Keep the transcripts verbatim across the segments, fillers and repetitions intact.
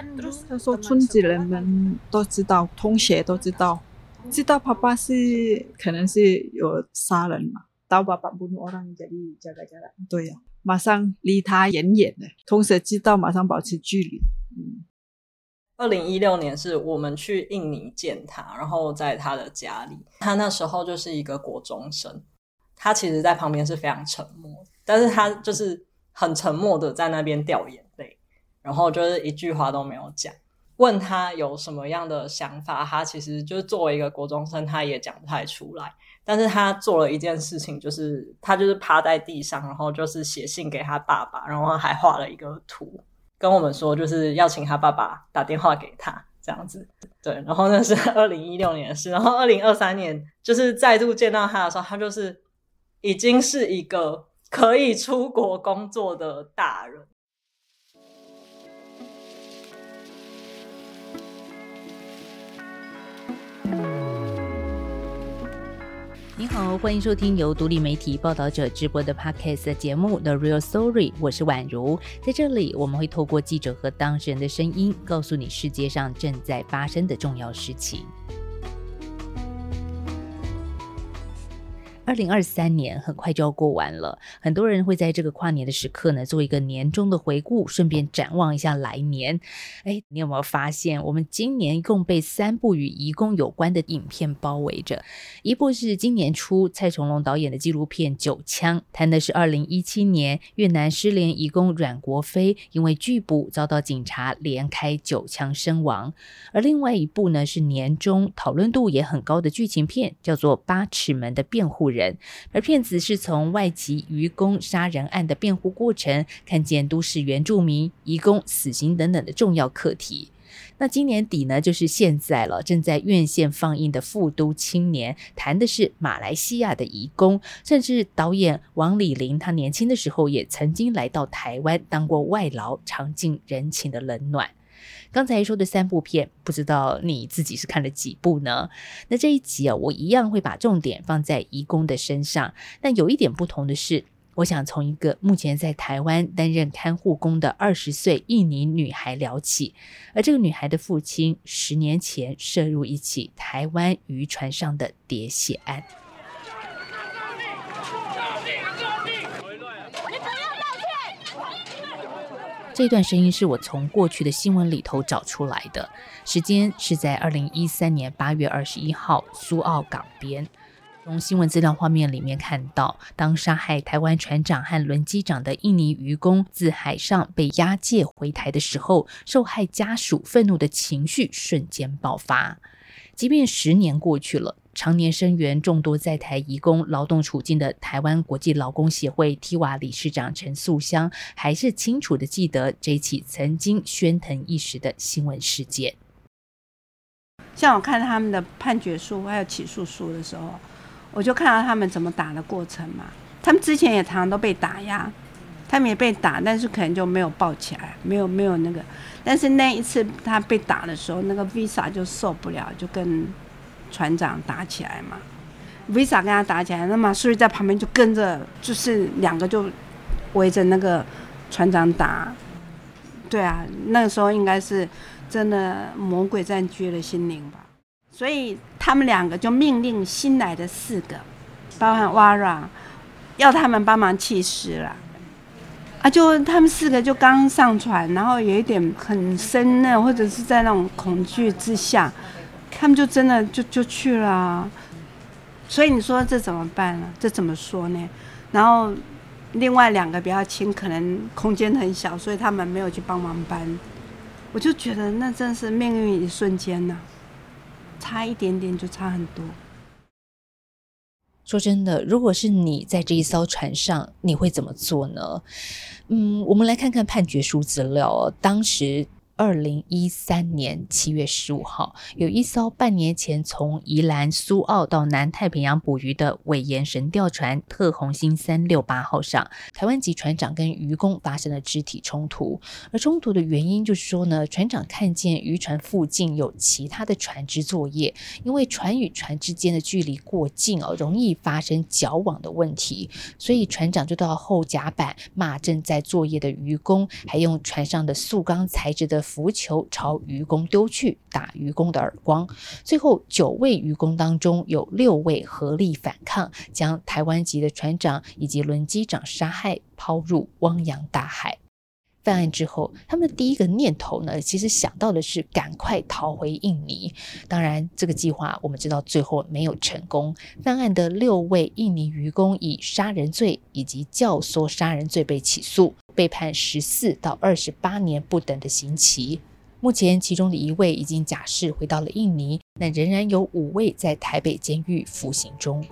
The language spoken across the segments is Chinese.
Terus 他說村子人們都知道，同學都知道，知道爸爸是可能是有殺人嘛，tahu bapak bunuh orang jadi jaga jarak。對啊，馬上離他遠遠的，同學知道馬上保持距離。嗯。 二零一六年是我們去印尼見他，然後在他的家裡，他那時候就是一個國中生，他其實在旁邊是非常沉默，但是他就是很沉默的在那邊掉眼淚，然後就是一句話都沒有講。問他有什麼樣的想法，他其實就是作為一個國中生，他也講不太出來。但是他做了一件事情，就是他就是趴在地上，然後就是寫信給他爸爸，然後還畫了一個圖。跟我們說就是要請他爸爸打電話給他這樣子，對，然後那是二零一六年的事，然後二零二三年就是再度見到他的時候，他就是已經是一個可以出國工作的大人。 你好，歡迎收聽由獨立媒體報道者直播的 Podcast 的節目 The Real Story， 我是婉如。在這裡我們會透過記者和當事人的聲音，告訴你世界上正在發生的重要事情。二零二三年很快就要過完了，很多人會在這個跨年的時刻呢，做一個年終的回顧，順便展望一下來年。誒，你有沒有發現，我們今年一共被三部與移工有關的影片包圍着？一部是今年初蔡崇隆導演的紀錄片《九槍》，談的是二零一七年越南失聯移工阮國飛因為拒捕遭到警察連開九槍身亡。而另外一部呢，是年終討論度也很高的劇情片，叫做《八尺門的辯護人》。而片子是從外籍漁工殺人案的辯護過程，看見都市原住民、移工、死刑等等的重要課題。那今年底呢，就是現在了，正在院線放映的《富都青年》，談的是馬來西亞的移工，甚至導演王禮霖他年輕的時候也曾經來到台灣當過外勞，嘗盡人情的冷暖。剛才說的三部片，不知道你自己是看了幾部呢？那這一集啊，我一樣會把重點放在移工的身上，但有一點不同的是，我想從一個目前在台灣擔任看護工的二十歲印尼女孩聊起。而這個女孩的父親十年前涉入一起台灣漁船上的喋血案。這段聲音是我從過去的新聞裡頭找出來的，時間是在二零一三年八月二十一號蘇澳港邊。從新聞資料畫面裡面看到，當殺害台灣船長和輪機長的印尼漁工自海上被押解回台的時候，受害家屬憤怒的情緒瞬間爆發。即便十年過去了，常年聲援眾多在台移工勞動處境的台灣國際勞工協會 T W A 理事長陳素香，還是清楚地記得這起曾經喧騰一時的新聞事件。 像我看他們的判決書還有起訴書的時候，我就看到他們怎麼打的過程嘛。他們之前也常常都被打壓，他們也被打，但是可能就沒有抱起來，沒有沒有那個。但是那一次他被打的時候，那個 Visa 就受不了，就跟船長打起來嘛。Visa 跟他打起來，那馬蘇瑞在旁邊就跟着，就是兩個就圍着那個船長打。對啊，那個時候應該是真的魔鬼佔據了心靈吧。所以他們兩個就命令新來的四個，包含 Wara， 要他們幫忙棄屍了。啊，就他們四個就剛上船，然後有一點很生嫩，或者是在那種恐懼之下，他們就真的就就去了啊。所以你說這怎麼辦呢？這怎麼說呢？然後另外兩個比較輕，可能空間很小，所以他們沒有去幫忙搬。我就覺得那真是命運一瞬間吶、啊，差一點點就差很多。 說真的，如果是你在這一艘船上，你會怎麼做呢？嗯，我們來看看判決書資料哦。當時二零一三年七月十五號，有一艘半年前從宜蘭蘇澳到南太平洋捕魚的韋嚴神釣船特紅星三六八號上，台灣籍船長跟漁工發生了肢體衝突。而衝突的原因就是說呢，船長看見漁船附近有其他的船隻作業，因為船與船之間的距離過近哦，容易發生絞網的問題，所以船長就到後甲板罵正在作業的漁工，還用船上的塑鋼材質的浮球朝漁工丟去，打漁工的耳光。最後九位漁工當中有六位合力反抗，將台灣籍的船長以及輪機長殺害，拋入汪洋大海。犯案之後，他們的第一個念頭呢，其實想到的是趕快逃回印尼。當然，這個計劃我們知道最後沒有成功。犯案的六位印尼漁工以殺人罪以及教唆殺人罪被起訴，被判十四到二十八年不等的刑期。目前，其中的一位已經假釋回到了印尼，但仍然有五位在台北監獄服刑中。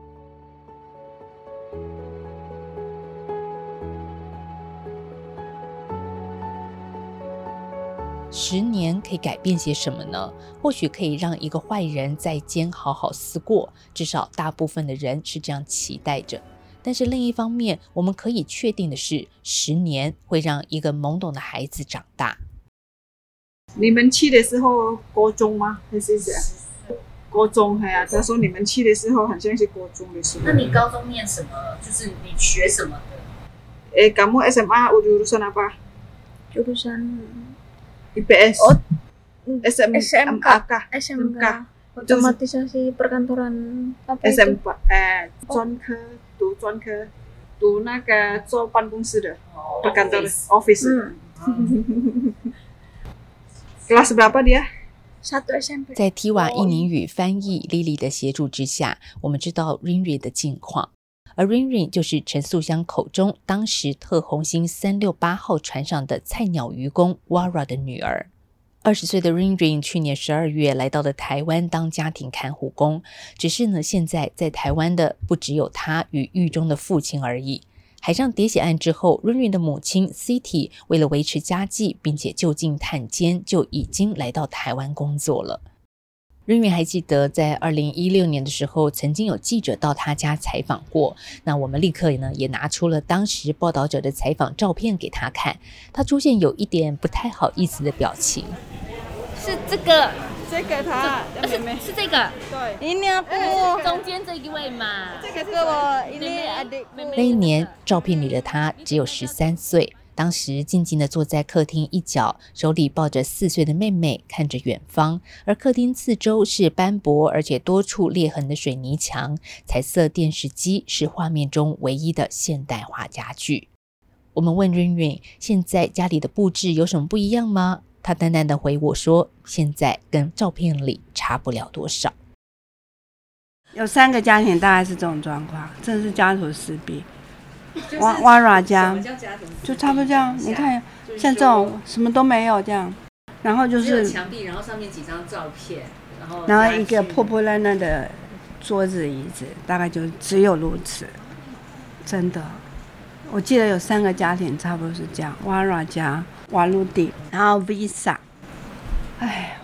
十年可以改變些什麼呢？或許可以讓一個壞人在監好好思過，至少大部分的人是這樣期待着。但是另一方面，我們可以確定的是，十年會讓一個懵懂的孩子長大。 你們去的時候國中嗎？還是這樣？國中，哎呀，他說你們去的時候好像是國中的時候。 那你高中念什麼？就是你學什麼的？ Eh, kamu S M A jurusan apa? Jurusan I P S. Oh, S M A kah? S M K. Otomatisasi perkantoran apa S M P itu? 哎，專科讀專科讀那個做辦公室的 perkantor office。嗯。Kelas berapa dia? Satu S M P。 在 Tiwa 印尼語翻譯 Lily 的協助之下，我們知道 Rinrin 的近況。而 Rinrin 就是陳素香口中當時特紅星三六八號船上的菜鳥漁工 Wara 的女兒。二十歲的 Rinrin 去年十二月來到了台灣當家庭看護工，只是呢，現在在台灣的不只有他與獄中的父親而已。海上喋血案之後 Rinrin 的母親 Siti 為了維持家計並且就近探監，就已經來到台灣工作了。Rinrin 還記得在二零一六年的時候，曾經有記者到他家採訪過。那我們立刻呢也拿出了當時報道者的採訪照片給他看，他出現有一點不太好意思的表情。 是這個， 這個他， 是是這個， 對， ini aku中間這一位嘛。這個是我 ini adikku。那一年，照片裡的他只有十三歲。當時靜靜地坐在客廳一角，手裡抱着四歲的妹妹，看着遠方。而客廳四周是斑駁而且多處裂痕的水泥牆，彩色電視機是畫面中唯一的現代化家具。我們問 Rinrin 現在家裡的布置有什麼不一樣嗎？她淡淡的回我說，現在跟照片裡差不了多少。 有三個家庭大概是這種狀況，真的是家徒四壁。哇哇啦家就差不多這樣，你看像這種什麼都沒有這樣，然後就是牆壁，然後上面幾張照片，然後然後一個破破爛爛的桌子椅子，大概就只有如此。真的，我記得有三個家庭差不多是這樣，哇啦家、瓦魯蒂，然後 Visa。哎，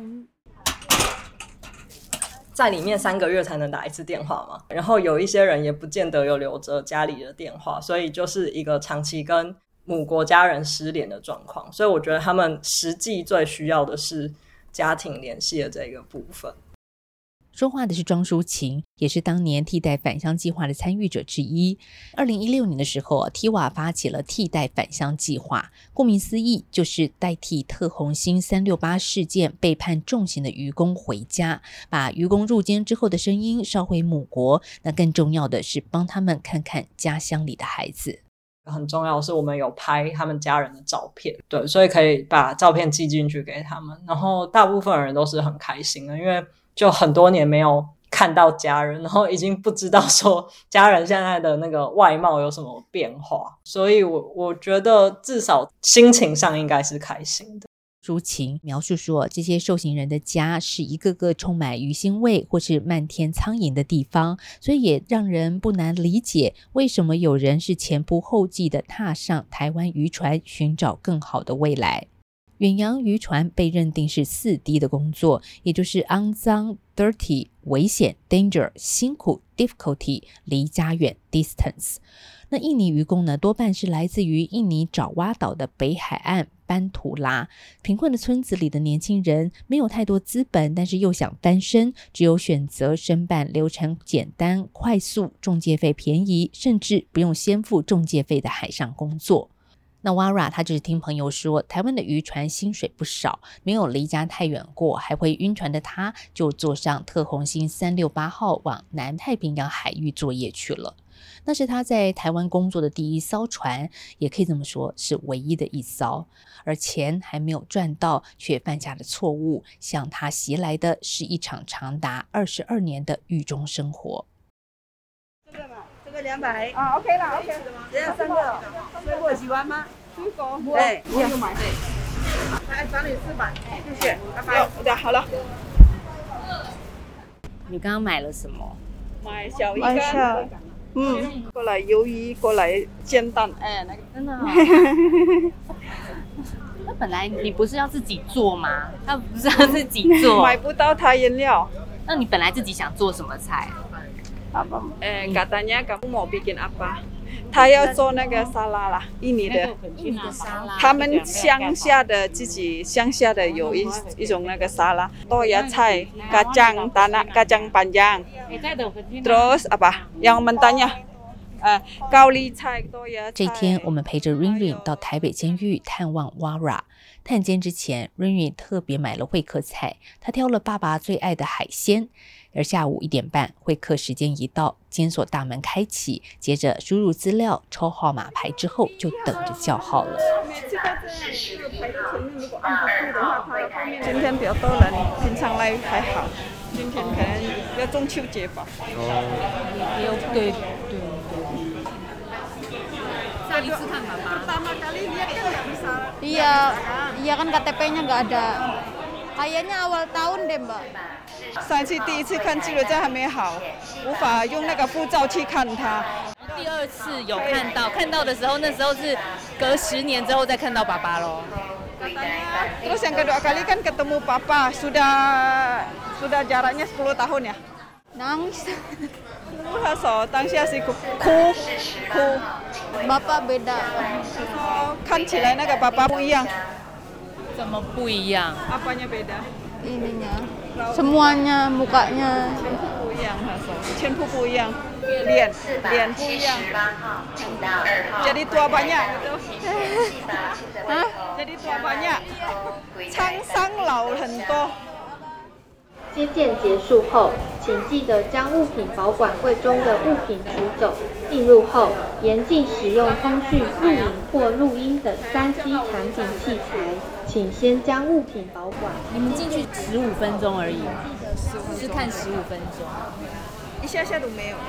在裡面三個月才能打一次電話嘛，然後有一些人也不見得有留着家裡的電話，所以就是一個長期跟母國家人失聯的狀況。所以我覺得他們實際最需要的是家庭聯繫的這個部分。 說話的是莊淑琴，也是當年替代返鄉計劃的參與者之一。二零一六年的時候 Tiwa 發起了替代返鄉計劃，顧名思義就是代替特紅星三六八事件被判重刑的漁工回家，把漁工入監之後的聲音捎回母國。那更重要的是幫他們看看家鄉裡的孩子。 很重要的是我們有拍他們家人的照片，對，所以可以把照片寄進去給他們，然後大部分人都是很開心的，因為就很多年沒有看到家人，然後已經不知道說家人現在的那個外貌有什麼變化，所以我我覺得至少心情上應該是開心的。 淑琴描述說，這些受刑人的家是一個個充滿魚腥味或是漫天蒼蠅的地方，所以也讓人不難理解為什麼有人是前仆後繼的踏上台灣漁船尋找更好的未來。遠洋漁船被認定是四 D 的工作，也就是骯髒 dirty、危險 danger、辛苦 difficulty、離家遠 distance。那印尼漁工呢，多半是來自於印尼爪哇島的北海岸班圖拉。貧困的村子裡的年輕人沒有太多資本，但是又想翻身，只有選擇申辦流程簡單、快速、仲介費便宜，甚至不用先付仲介費的海上工作。 那 Wara 他就是聽朋友說，台灣的漁船薪水不少，沒有離家太遠過，還會暈船的他，就坐上特鴻星三六八號往南太平洋海域作業去了。那是他在台灣工作的第一艘船，也可以這麼說是唯一的一艘。而錢還沒有賺到，卻犯下了錯誤，向他襲來的是一場長達二十二年的獄中生活。 這個嘛，這個兩百啊 ，OK 了 ，OK， 只要三個。水果喜歡嗎？水果，對，我有買。來，找你四百，謝謝，拜拜。对，好了。 你剛剛買了什麼？ 買小魚乾。嗯，過來魷魚，過來煎蛋。哎，那個真的、哦。那本來你不是要自己做嗎？他不是要自己做。 買不到他原料。 那你本來自己想做什麼菜？ 哎，katanya kamu mau bikin apa？他要做那個沙拉啦，印尼的。 印尼的沙拉。 他們鄉下的自己鄉下的有一一種那個沙拉，多芽菜、kacang tanah、kacang panjang。Terus apa？yang mentahnya，呃，高麗菜、多芽菜。 這天，我們陪着 Rin Rin 到台北監獄探望 Wara。探監之前 ，Rin Rin 特別買了會客菜，他挑了爸爸最愛的海鮮。而下午一點半，會客時間一到，監所大門開啟，接着輸入資料、抽號碼牌之後，就等着叫號了。 今天比較多人，平常來還好，今天可能要中秋節吧。 哦，對對對。上一次看爸爸。 Iya, iya kan K T P-nya nggak ada. Kayaknya awal tahun deh, Mbak。 上一次第一次看記錄證還沒好，無法用那個護照去看他。 第二次有看到，看到的時候，那時候是隔十年之後再看到爸爸咯。 Terus yang kedua kali kan ketemu papa, sudah sudah jaraknya sepuluh tahun ya. Nangis. So, 當下是哭哭哭。 Bapak beda。 看起來那個爸爸不一樣。 怎麼不一樣？ Apanya beda？ Ininya, semuanya, mukanya。 不一樣，全部不一樣，臉臉不一樣。Jadi tua banyak gitu。啊 ？Jadi tua banyak， 滄桑老很多。 接見結束後，請記得將物品保管櫃中的物品取走。進入後，嚴禁使用通訊、錄影或錄音等三 C 產品器材。請先將物品保管。 你們進去十五分鐘而已嗎？是看十五分鐘， 一下下都沒有。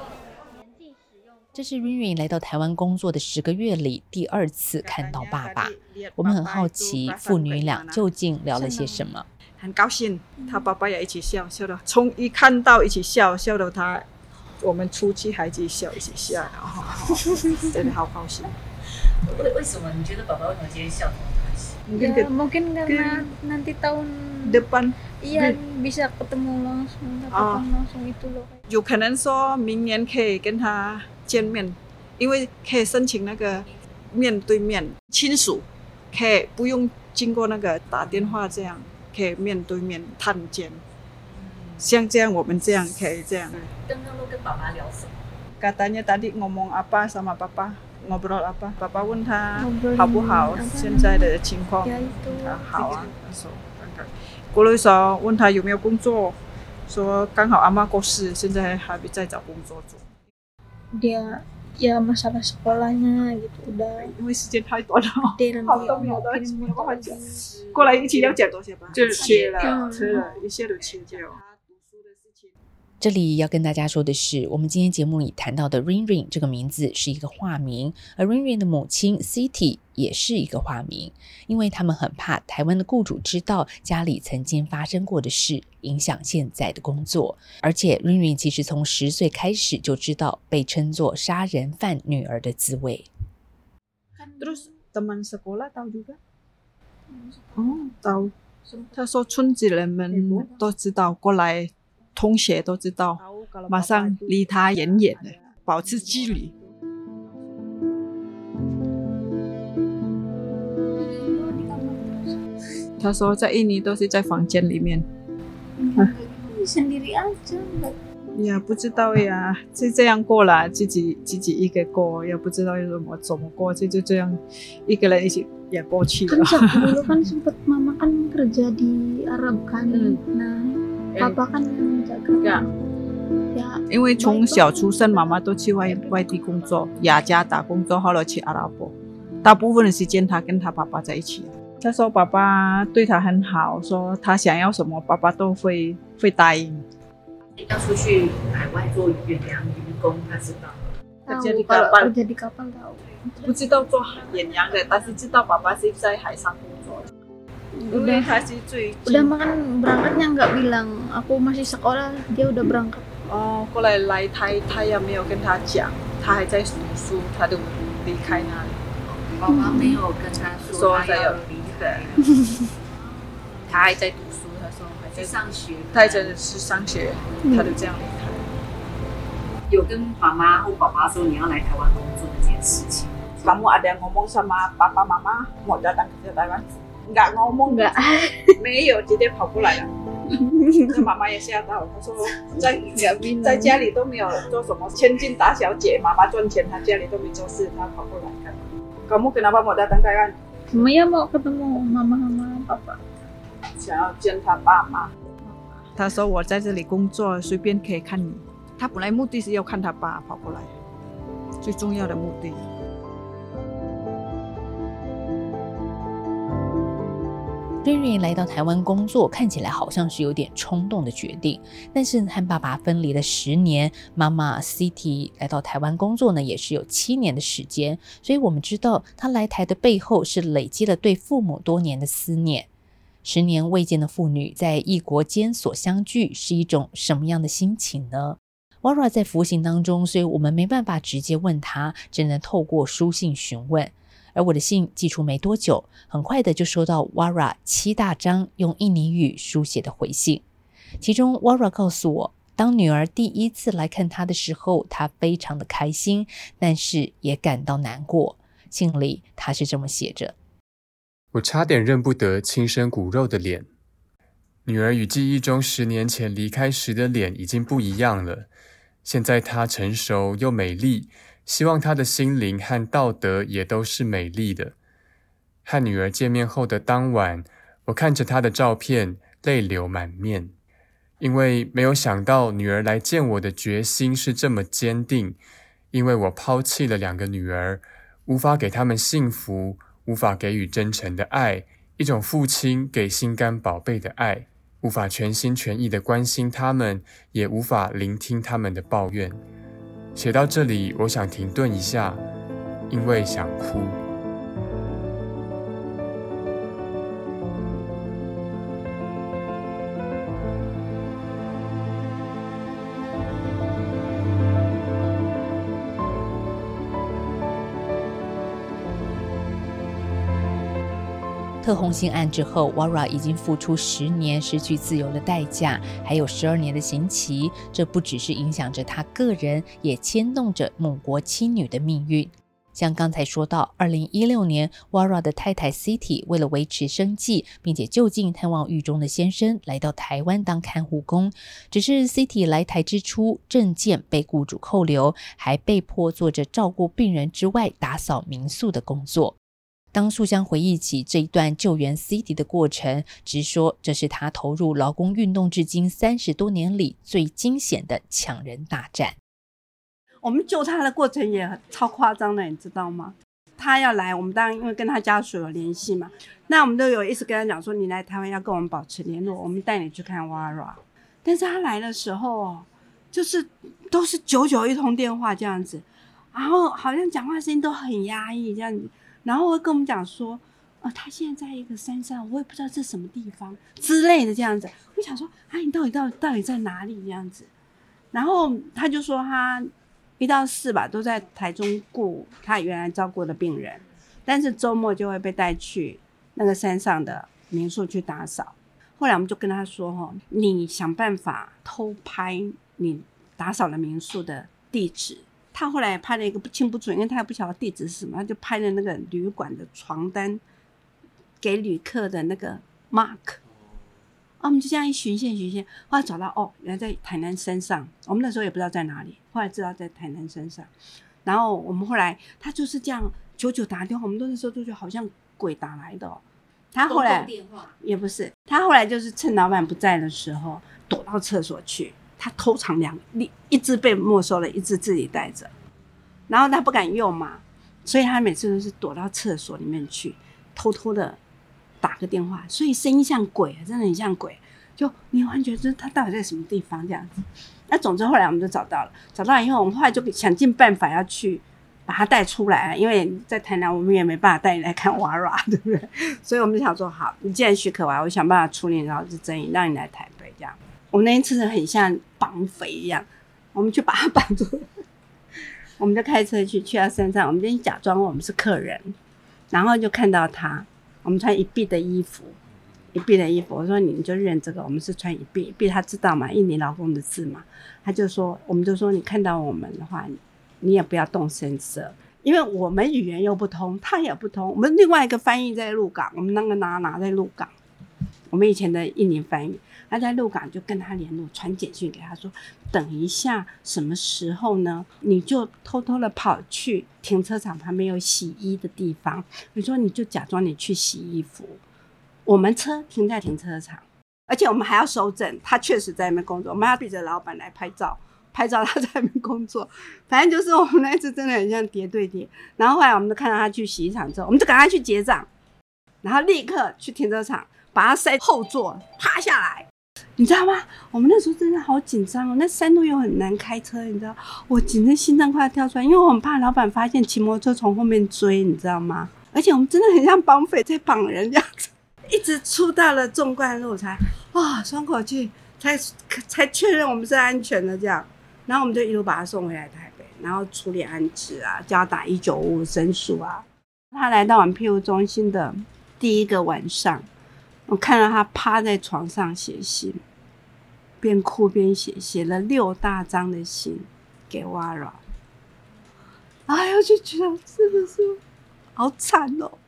這是 Rin Rin 來到台灣工作的十個月裡第二次看到爸爸。我們很好奇父女倆究竟聊了些什麼。 很高興，他爸爸也一起笑，笑到從一看到一起笑，笑到他我們出去還一起笑，一起笑，然後真的好高興。 為為什麼你覺得爸爸為什麼今天笑這麼開心？ Ya, mungkin karena nanti tahun depan iya bisa ketemu langsung, tatap langsung itu loh. 有可能說明年可以跟他見面，因為可以申請那個面對面親屬，可以不用經過那個打電話這樣。可以面對面探監，像這樣我們這樣可以這樣。 剛剛都跟爸爸聊什麼？ Katanya tadi ngomong apa sama papa, ngobrol apa? Papa問他好不好？現在的情況。他好啊。說，過來說問他有沒有工作，說剛好阿嬤過世，現在還在找工作做。 Dia ya masalah sekolahnya gitu udah。 因為時間太短了，好多沒有的，沒有辦法講。過來一起要講多些吧，就是切了，切了，一切都切掉。 這裡要跟大家說的是，我們今天節目裡談到的 Rin Rin 這個名字是一個化名，而 Rin Rin 的母親 Siti 也是一個化名，因為他們很怕台灣的雇主知道家裡曾經發生過的事，影響現在的工作。而且 Rin Rin 其實從十歲開始就知道被稱作殺人犯女兒的滋味。 Terus teman sekolah tahu juga？ 哦，tahu。他說村子人們都知道，過來同學都知道，馬上離他遠遠的，保持距離。他說在印尼都是在房間裡面。 嗯，sendiri aja. 呀，不知道呀，就這樣過了，自己自己一個過，也不知道怎麼怎麼過，就就這樣一個人一起也過去了。 Kan dulu kan sempet mama kan kerja di Arab kan, nah papa kan yang jaga. Ya, 因為從小出生，媽媽都去外外地工作，雅加打工作，後來去阿拉伯，大部分的時間他跟他爸爸在一起。他說爸爸對他很好，說他想要什麼，爸爸都會會答應。 要出去海外做遠洋漁工，他知道。 tahu kalau kerja di kapal tahu. 不知道做遠洋的，但是知道爸爸是在海上工作。因為他是最 Udah makan berangkatnya nggak bilang aku masih sekolah, dia udah berangkat. 哦，過來來台，他也沒有跟他講，他還在讀書，他就離開那裡。 爸爸沒有跟他說他要離開，他還在讀書，他說還在上學， 他真的是上學，他就這樣離開。 有跟媽媽或爸爸說你要來台灣工作這件事情。 Kamu ada ngomong sama papa mama mau datang ke Taiwan? Nggak ngomong, nggak. 沒有，直接跑過來了。那媽媽也嚇到，她說在在家裡都沒有做什麼千金大小姐，媽媽賺錢，她家裡都沒做事，她跑過來看。Kamu kenapa mau datang Taiwan? Maya mau ketemu mama sama papa. 想要見他爸媽。他說我在這裡工作，隨便可以看你。他本來目的是要看他爸跑過來，最重要的目的。 瑞瑞來到台灣工作，看起來好像是有點衝動的決定，但是和爸爸分離了十年，媽媽 Siti 來到台灣工作呢，也是有七年的時間，所以我們知道她來台的背後是累積了對父母多年的思念。十年未見的父女在異國間所相聚，是一種什麼樣的心情呢？ Wara 在服刑當中，所以我們沒辦法直接問他，只能透過書信詢問。而我的信寄出沒多久，很快的就收到 Wara 七大張用印尼語書寫的回信。其中 Wara 告訴我，當女兒第一次來看他的時候，他非常的開心，但是也感到難過。信裡他是這麼寫着： 我差點認不得親生骨肉的臉，女兒與記憶中十年前離開時的臉已經不一樣了。現在她成熟又美麗，希望她的心靈和道德也都是美麗的。和女兒見面後的當晚，我看着她的照片，淚流滿面，因為沒有想到女兒來見我的決心是這麼堅定，因為我拋棄了兩個女兒，無法給她們幸福，無法給予真誠的愛，一種父親給心肝寶貝的愛，無法全心全意地關心他們，也無法聆聽他們的抱怨。寫到這裡，我想停頓一下，因為想哭。 特紅信案之後 Wara 已經付出十年失去自由的代價，還有十二年的刑期，這不只是影響着他個人，也牽動着母國妻女的命運。像剛才說到二零一六年 Wara 的太太 Siti 為了維持生計，並且就近探望獄中的先生，來到台灣當看護工。只是 Siti 來台之初，證件被雇主扣留，還被迫做着照顧病人之外打掃民宿的工作。當素香回憶起這一段救援 Siti 的過程，直說這是他投入勞工運動至今三十多年裡最驚險的搶人大戰。 我們救他的過程也很超誇張的，你知道嗎？他要來，我們當然因為跟他家屬有聯繫嘛，那我們都有一直跟他講說，你來台灣要跟我們保持聯絡，我們帶你去看 Wara。但是他來的時候，就是都是久久一通電話這樣子，然後好像講話聲音都很壓抑這樣子。然後會跟我們講說，呃，他現在在一個山上，我也不知道這是什麼地方之類的這樣子。我想說，啊，你到底到底到底在哪裡這樣子？然後他就說，他一到四吧都在台中顧他原來照顧的病人，但是周末就會被帶去那個山上的民宿去打掃。後來我們就跟他說，哈，你想辦法偷拍你打掃的民宿的地址。他後來拍了一個不清不楚，因為他也不曉得地址是什麼，他就拍了那個旅館的床單給旅客的那個 mark， 啊，我們就這樣一循線循線，後來找到哦，原來在台南山上，我們那時候也不知道在哪裡，後來知道在台南山上。然後我們後來他就是這樣久久打電話，我們那時候都覺得好像鬼打來的哦。他後來也不是，他後來就是趁老闆不在的時候躲到廁所去，他偷藏兩一隻被沒收了，一隻自己帶着，然後他不敢用嘛，所以他每次都是躲到廁所裡面去，偷偷的打個電話，所以聲音像鬼，真的很像鬼，就你完全覺得他到底在什麼地方這樣子。那總之後來我們就找到了，找到了以後，我們後來就想盡辦法要去把他帶出來，因為在台南我們也沒辦法帶你來看娃娃，對不對？所以我們就想說，好，你既然許可娃，我想辦法處理勞資爭議，讓你來台北這樣。我們那一次很像綁匪一樣，我們去把他綁住了，我們就開車去去到山上，我們就假裝我們是客人，然後就看到他，我們穿一碧的衣服。一碧的衣服，我說你就認這個，我們是穿一碧，一碧他知道嘛，印尼勞工的字嘛，他就說，我們就說你看到我們的話，你也不要動聲色，因為我們語言又不通，他也不通，我們另外一個翻譯在鹿港，我們那個拿拿在鹿港，我們以前的印尼翻譯，他在鹿港就跟他聯絡，傳簡訊給他說，等一下什麼時候呢？你就偷偷的跑去停車場旁邊有洗衣的地方，你說你就假裝你去洗衣服。我們車停在停車場，而且我們還要收證，他確實在那邊工作，我們要逼着老闆來拍照，拍照他在那邊工作。反正就是我們那次真的很像諜對諜。然後後來我們就看到他去洗衣廠之後，我們就趕快去結賬，然後立刻去停車場把他塞後座，趴下來。你知道嗎？我們那時候真的好緊張哦，那山路又很難開車，你知道，我緊張心臟快要跳出來，因為我很怕老闆發現騎摩托車從後面追，你知道嗎？而且我們真的很像綁匪在綁人這樣子。一直出到了縱貫路才啊，鬆口氣，才才確認我們是安全的這樣，然後我們就一路把他送回來台北，然後處理安置啊，叫他打一九五五申訴啊。他來到我們庇護中心的第一個晚上，我看到他趴在床上寫信，邊哭邊寫，寫了六大張的信給 Wara。哎呦，就覺得真的是好慘哦。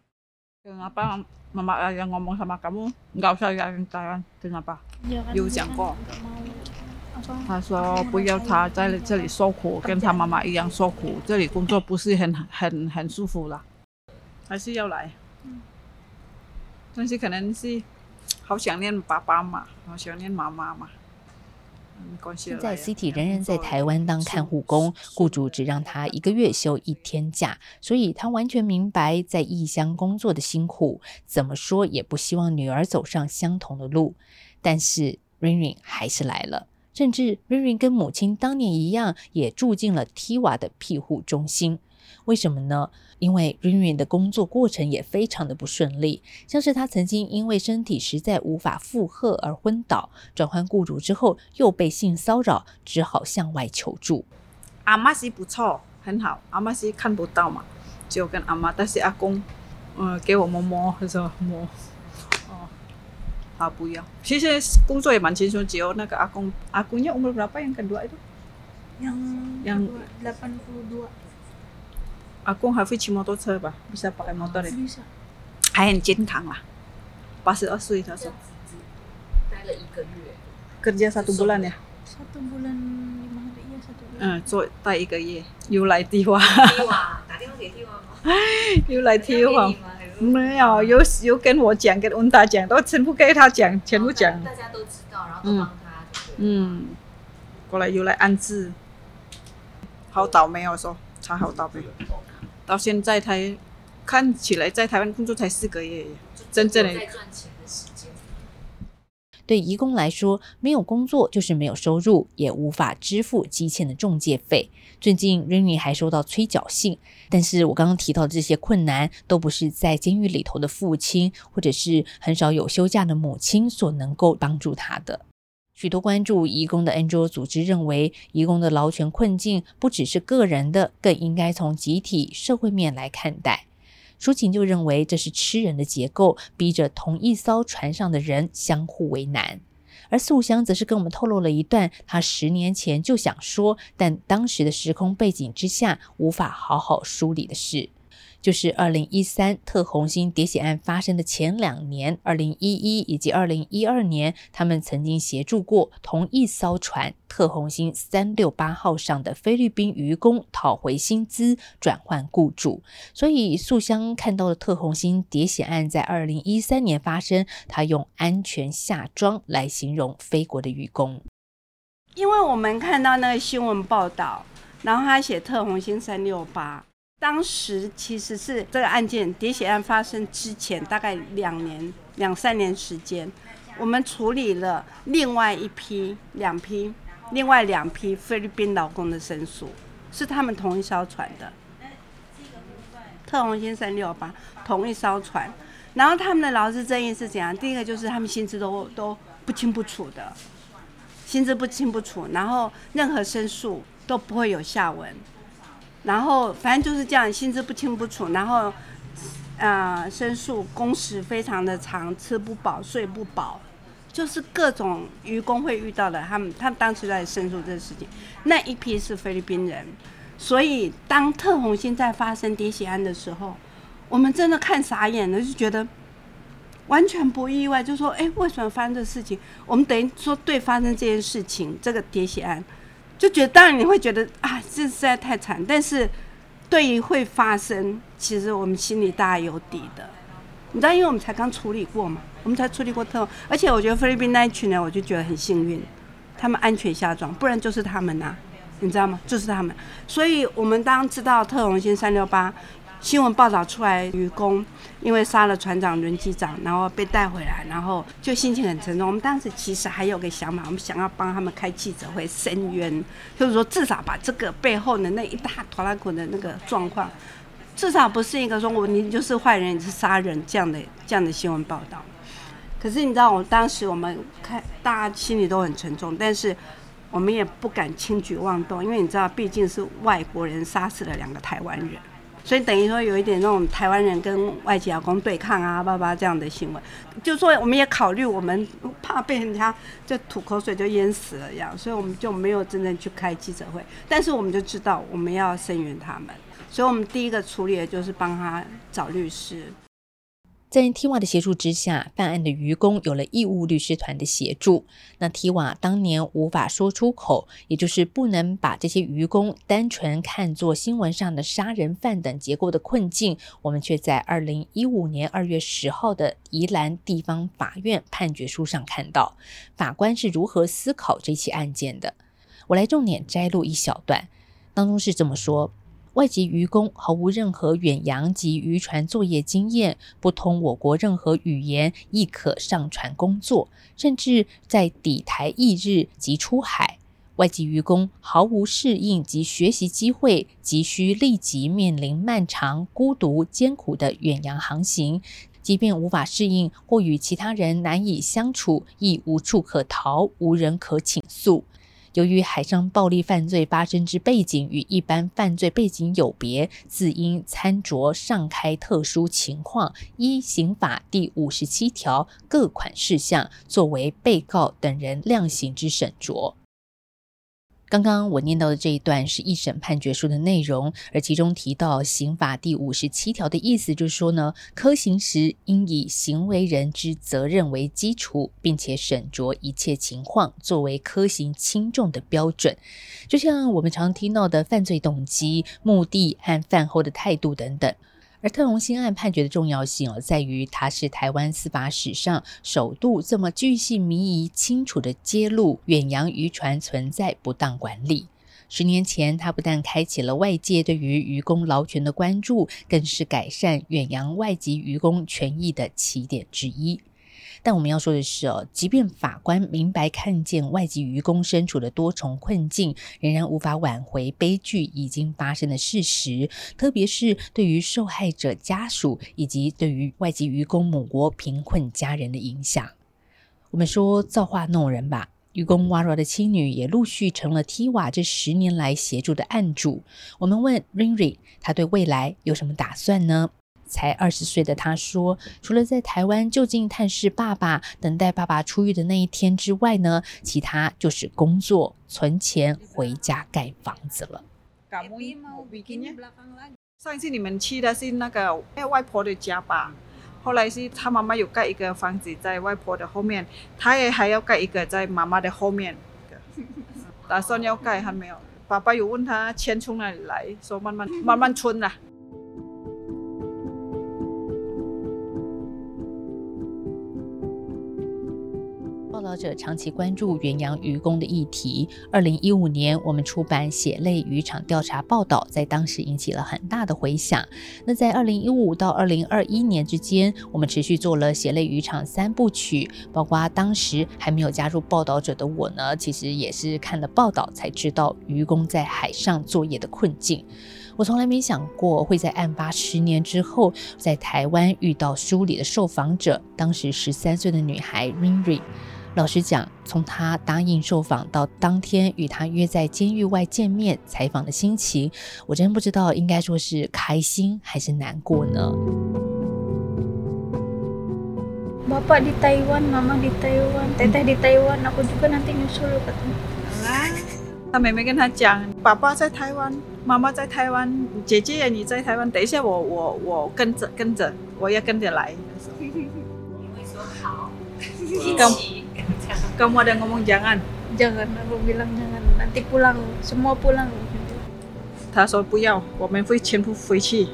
Kenapa mama yang ngomong sama kamu nggak usah jalan-jalan? Kenapa? Ya kan, 有講過。他說不要他在這裡受苦，跟他媽媽一樣受苦。這裡工作不是很很很舒服啦，還是要來。嗯、但是可能是好想念爸爸嘛，好想念媽媽嘛。 現在 Siti 仍然在台灣當看護工，雇主只讓他一個月休一天假，所以他完全明白在異鄉工作的辛苦，怎麼說也不希望女兒走上相同的路。但是 Rinrin 還是來了，甚至 Rinrin 跟母親當年一樣，也住進了 TIWA 的庇護中心。為什麼呢？因為 Rinrin 的工作過程也非常的不順利，像是他曾經因為身體實在無法負荷而昏倒，轉換雇主之後又被性騷擾，只好向外求助。 阿媽是不錯，很好，阿媽是看不到嘛，只有跟阿媽，但是阿公，呃，給我摸摸，他說摸，哦，他不要。其實工作也蠻輕鬆，只有那個阿公，阿公nya umur berapa yang kedua itu? Yang yang delapan puluh dua。 阿公還會騎摩托車吧？bisa pakai motor ya？ bisa。 還很健康啦，八十二歲他說。 待了一個月。 kerja satu bulan ya？ satu bulan lima hari ya satu bulan。 嗯，做待一個月，又來TIWA。 TIWA，打電話給TIWA嗎？ 又來TIWA。沒有，有有跟我講，跟溫達講，都全部給他講，全部講。 大家都知道，然後都幫他。 嗯。過來又來安置，好倒霉，我說他好倒霉。到現在才看起來在台灣工作才四個月，真正的在賺錢的時間。 對移工來說，沒有工作就是沒有收入，也無法支付積欠的仲介費。最近 Rinrin 還收到催繳信，但是我剛剛提到的這些困難，都不是在監獄裡頭的父親，或者是很少有休假的母親所能夠幫助他的。許多關注移工的 N G O 組織認為，移工的勞權困境不只是個人的，更應該從集體社會面來看待。抒琴就認為這是吃人的結構，逼着同一艘船上的人相互為難。而素香則是跟我們透露了一段他十年前就想說，但當時的時空背景之下無法好好梳理的事。 就是二零一三特宏興喋血案發生的前兩年，二零一一以及二零一二年，他們曾經協助過同一艘船特宏興三六八號上的菲律賓漁工討回薪資，轉換雇主。所以素香看到的特宏興喋血案在二零一三年發生，他用安全下莊來形容菲國的漁工。 因為我們看到那個新聞報道，然後他寫特宏興三六八，當時其實是這個案件喋血案發生之前大概兩年兩三年時間，我們處理了另外一批兩批另外兩批菲律賓勞工的申訴，是他們同一艘船的特宏興三六八同一艘船，然後他們的勞資爭議是怎樣？第一個就是他們薪資都都不清不楚的。薪資不清不楚，然後任何申訴都不會有下文，然後反正就是這樣，薪資不清不楚，然後呃申訴工時非常的長，吃不飽睡不飽，就是各種漁工會遇到的。他們他們當時在申訴這個事情，那一批是菲律賓人，所以當特宏興在發生喋血案的時候，我們真的看傻眼了，就覺得。完全不意外，就說哎，為什麼發生這事情？我們等於說對發生這件事情，這個喋血案，就覺得當然你會覺得啊，這實在太慘。但是對於會發生，其實我們心裡大概有底的。你知道，因為我們才剛處理過嘛，我們才處理過特，而且我覺得菲律賓那一群人，我就覺得很幸運，他們安全下莊，不然就是他們吶、啊，你知道嗎？就是他們。所以我們當知道特宏興三六八。新聞報道出來，漁工因為殺了船長、輪機長，然後被帶回來，然後就心情很沉重。我們當時其實還有個想法，我們想要幫他們開記者會申冤，就是說至少把這個背後的那一大拖拉庫的那個狀況，至少不是一個說我你就是壞人，你是殺人這樣的這樣的新聞報道。可是你知道，我當時我們看大家心裡都很沉重，但是我們也不敢輕舉妄動，因為你知道，畢竟是外國人殺死了兩個台灣人。所以等於說有一點那種台灣人跟外籍勞工對抗啊，爸爸這樣的新聞，就說我們也考慮，我們怕被人家就吐口水就淹死了一樣，所以我們就沒有真正去開記者會。但是我們就知道我們要聲援他們，所以我們第一個處理的就是幫他找律師。 在 T I W A 的協助之下，犯案的漁工有了義務律師團的協助。那 T I W A 當年無法說出口，也就是不能把這些漁工單純看作新聞上的殺人犯等結構的困境，我們卻在二零一五年二月十號的宜蘭地方法院判決書上看到，法官是如何思考這起案件的。我來重點摘錄一小段，當中是這麼說。外籍漁工毫無任何遠洋及漁船作業經驗，不通我國任何語言，亦可上船工作，甚至在抵台翌日即出海。外籍漁工毫無適應及學習機會，急需立即面臨漫長、孤獨、艱苦的遠洋航行。即便無法適應或與其他人難以相處，亦無處可逃，無人可傾訴。由於海上暴力犯罪發生之背景與一般犯罪背景有別，自應參酌上開特殊情況，依刑法第五十七條各款事項，作為被告等人量刑之審酌。剛剛我念到的這一段是一審判決書的內容，而其中提到刑法第五十七條的意思就是說呢，科刑時應以行為人之責任為基礎，並且審酌一切情況，作為科刑輕重的標準。就像我們常聽到的犯罪動機、目的和犯後的態度等等。而特宏興案判決的重要性哦，在於它是台灣司法史上首度這麼鉅細靡遺、清楚地揭露遠洋漁船存在不當管理。十年前，它不但開啟了外界對於漁工勞權的關注，更是改善遠洋外籍漁工權益的起點之一。但我們要說的是哦，即便法官明白看見外籍漁工身處的多重困境，仍然無法挽回悲劇已經發生的事實，特別是對於受害者家屬以及對於外籍漁工母國貧困家人的影響。我們說造化弄人吧，漁工 Wara 的妻女也陸續成了 T I W A 這十年來協助的案主。我們問 Rinri， 他對未來有什麼打算呢？才二十歲的他說，除了在台灣就近探視爸爸，等待爸爸出獄的那一天之外呢，其他就是工作、存錢、回家蓋房子了。 上次你們去的是那個外婆的家吧？後來是他媽媽有蓋一個房子在外婆的後面，他也還要蓋一個在媽媽的後面，打算要蓋還沒有。爸爸有問他錢從哪裡來，說慢慢慢慢存啦。 報道者長期關注遠洋漁工的議題。二零一五年，我們出版《血淚漁場調查報道》，在當時引起了很大的回響。那在二零一五到二零二一年之間，我們持續做了《血淚漁場》三部曲，包括當時還沒有加入報道者的我呢，其實也是看了報道才知道漁工在海上作業的困境。我從來沒想過會在案發十年之後，在台灣遇到書裡的受訪者，當時十三歲的女孩 Rinri。老實講，從他答應受訪到當天與他約在監獄外見面採訪的心情，我真不知道應該說是開心還是難過呢。 Bapak di Taiwan, Mama di Taiwan, Teteh di Taiwan, aku juga nanti nyusul katanya. 他妹妹跟他講，爸爸在台灣，媽媽在台灣，姐姐你在台灣，等一下我我我跟着跟着，我要跟着來。你會說好，一起。Kamu ada ngomong jangan? Jangan, aku bilang jangan. Nanti pulang, semua pulang. 他說不要，我們會全部回去。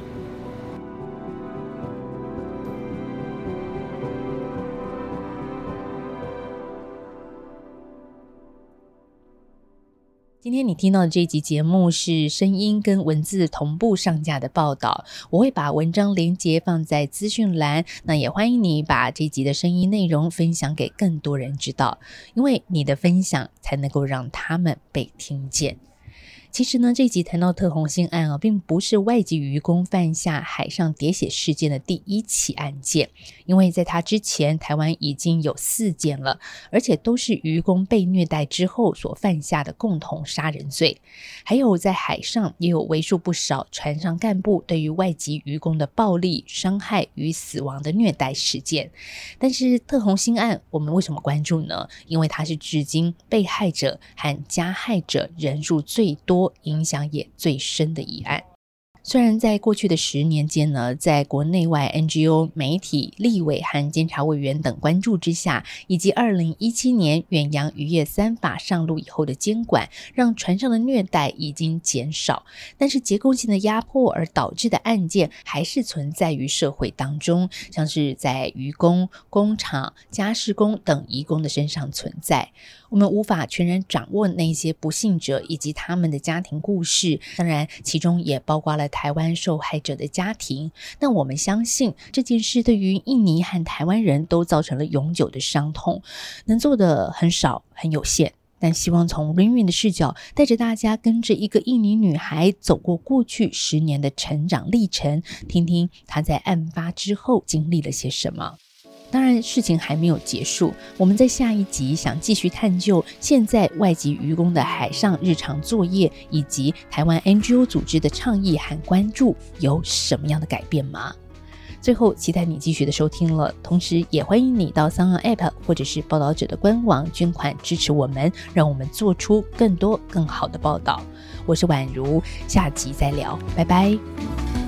今天你听到的這一集節目是聲音跟文字同步上架的報道，我會把文章連結放在資訊欄，那也歡迎你把這一集的聲音內容分享給更多人知道，因為你的分享才能夠讓他們被聽見。其實呢，這一集談到特宏興案啊，並不是外籍漁工犯下海上喋血事件的第一起案件，因為在他之前，台灣已經有四件了，而且都是漁工被虐待之後所犯下的共同殺人罪。還有在海上也有為數不少船上幹部對於外籍漁工的暴力、傷害與死亡的虐待事件。但是特宏興案，我們為什麼關注呢？因為它是至今被害者和加害者人數最多、影響也最深的一案。雖然在過去的十年間呢，在國內外 N G O、媒體、立委和監察委員等關注之下，以及二零一七年遠洋漁業三法上路以後的監管，讓船上的虐待已經減少，但是結構性的壓迫而導致的案件還是存在於社會當中，像是在漁工、工廠、家事工等移工的身上存在。我們無法全然掌握那些不幸者以及他們的家庭故事，當然其中也包括了台灣受害者的家庭。但我們相信這件事對於印尼和台灣人都造成了永久的傷痛，能做的很少很有限，但希望從 Rinri 的視角，帶着大家跟着一個印尼女孩走過過去十年的成長歷程，聽聽她在案發之後經歷了些什麼。當然事情還沒有結束，我們在下一集想繼續探究現在外籍漁工的海上日常作業，以及台灣 N G O 組織的倡議和關注有什麼樣的改變嗎？最後期待你繼續的收聽了，同時也歡迎你到 SoundOn App 或者是報道者的官網捐款支持我們，讓我們做出更多更好的報道。我是宛如，下集再聊，拜拜。